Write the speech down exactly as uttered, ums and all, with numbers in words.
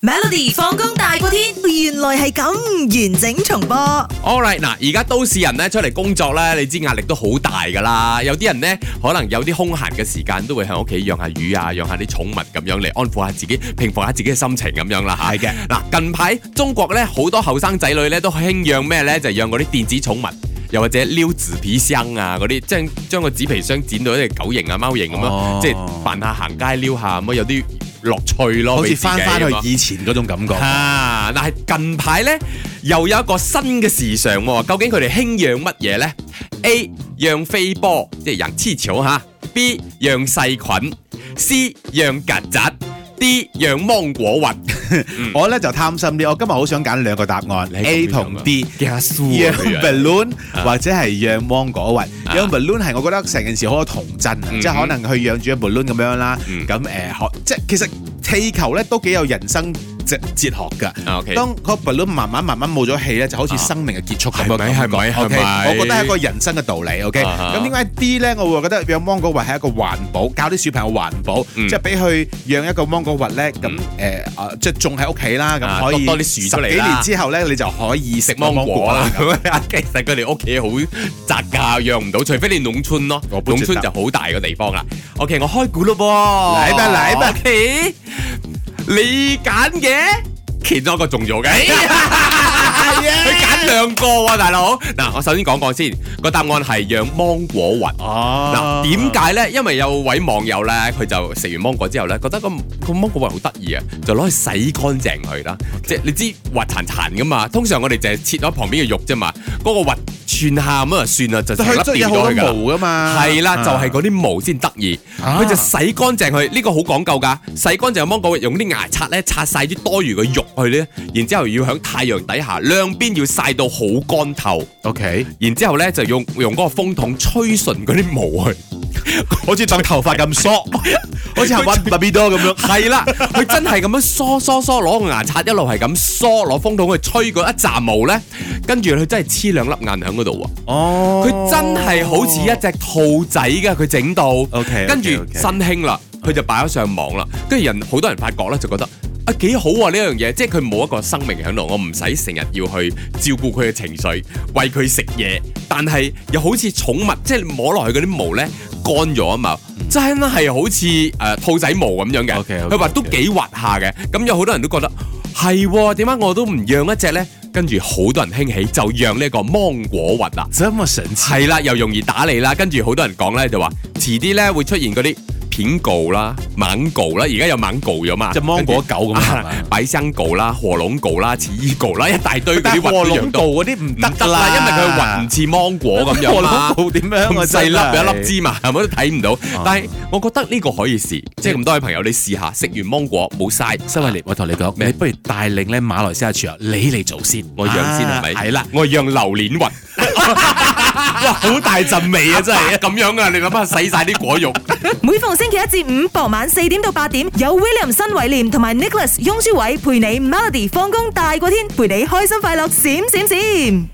Melody 放工大過天，原來係咁完整重播。 All right， 嗱，而家都市人咧出嚟工作咧，你知壓力都好大噶啦。有啲人咧可能有啲空閒嘅時間，都會喺屋企養下魚啊，養下啲寵物咁樣嚟安撫下自己，平復下自己嘅心情咁樣啦嚇。係嘅。嗱，近排中國咧好多後生仔女咧都興養咩咧？就係養嗰啲電子寵物。又或者撩紙皮箱啊嗰啲，即係將個紙皮箱剪到一隻狗形啊貓形咁樣，哦、即係扮下行街撩下咁，有啲樂趣咯， 好似翻翻去以前嗰種感覺。 啊！但係近排咧又有一個新嘅時尚喎，究竟佢哋興養乜嘢咧 ？A. 養飛波，即係養氣球嚇 ；B. 養細菌 ；C. 養曱甴 ；D. 養芒果核。 嗯、我咧就貪心啲，我今日好想揀兩個答案 ，A 同 D， 養 balloon 或者係養芒果核。養 balloon 係我覺得成件事好有童真啊，嗯、即係可能去養住一 balloon 咁樣啦。咁誒、嗯呃，即係其實氣球咧都幾有人生哲哲學㗎。Okay. 當個 balloon 慢慢慢慢冇咗氣咧，就好似生命嘅結束咁樣。係咪？係咪？我覺得係一個人生嘅道理。OK，咁點解 D 咧？我會覺得養芒果核係一個環保，教啲小朋友環保，嗯、即係俾佢養一個芒果核咧。咁誒啊，即係種喺屋企啦，咁可以多啲樹出嚟啦。十幾年之後咧，你就可以食芒果啦。其實佢哋屋企好窄㗎，養唔到，除非你農村咯。農村就好大個地方啦。OK， 我開估咯噃。嚟吧嚟吧。OK， 你揀嘅其中一個中咗嘅。佢揀兩個喎，大佬。嗱，我首先講講先，個答案係養芒果核。哦。嗱，點解咧？因為有位網友咧，佢就食完芒果之後咧，覺得個個芒果核好得意啊，就攞去洗乾淨佢啦。Okay. 即係你知滑殘殘噶嘛，通常我哋就係切咗旁邊嘅肉啫嘛，嗰、那個核串下咁啊算啦，就成粒掉咗佢㗎。毛噶嘛。係啦，就係嗰啲毛先得意。佢、啊、就洗乾淨佢，呢、這個好講究㗎。洗乾淨嘅芒果核，用啲牙刷咧刷晒啲多餘嘅肉去咧，然之後要喺太陽底下兩邊要曬到好乾透。OK， 然之後咧就用用嗰個風筒吹順嗰啲毛去。 好似當頭髮咁梳，好似係玩芭比多咁樣。 係啦，佢真係咁樣梳梳梳，攞個牙刷一路係咁梳，攞風筒去吹嗰一紮毛咧，跟住佢真係黐兩粒眼喺嗰度喎。哦，佢真係好似一隻兔仔㗎，佢整到。OK， 跟住新興啦，佢就擺咗上網啦，跟住人好多人發覺咧，就覺得啊幾好啊呢樣嘢，即係佢冇一個生命喺度，我唔使成日要去照顧佢嘅情緒，餵佢食嘢，但係又好似寵物，即係摸落去嗰啲毛咧。乾咗啊嘛，真係好似誒、呃、兔仔毛咁樣嘅，佢話 Okay, okay, 都幾滑下嘅，咁 okay. 有好多人都覺得係，點解我都唔養一隻咧？跟住好多人興起就養呢個芒果核啦， 這麼神奇， 係啦，又容易打理啦，跟住好多人講咧就話，遲啲咧會出現嗰啲片狗啦、猛狗啦，而家有猛狗咗嘛， 即係芒果狗咁啊， 百香狗啦、火龍狗啦、奇異狗啦，一大堆嗰啲核都養到。 火龍狗嗰啲唔得啦， 因為佢核唔似芒果咁樣嘛。 火龍狗點樣咁細粒有一粒芝麻，係咪都睇唔到？但係我覺得呢個可以試，即係咁多位朋友你試下，食完芒果冇嘥。 新偉廉，我同你講，你不如帶領咧馬來西亞廚友，你嚟做先， 我養先係咪？ 係啦， 我養榴蓮核。哇，好大陣味啊！真係咁樣啊！你諗下洗晒啲果肉。 每逢星期一至五傍晚四點到八點，有 William 新偉廉同埋 Nicholas 雍舒偉陪你 Melody 放工大過天，陪你開心快樂閃閃閃。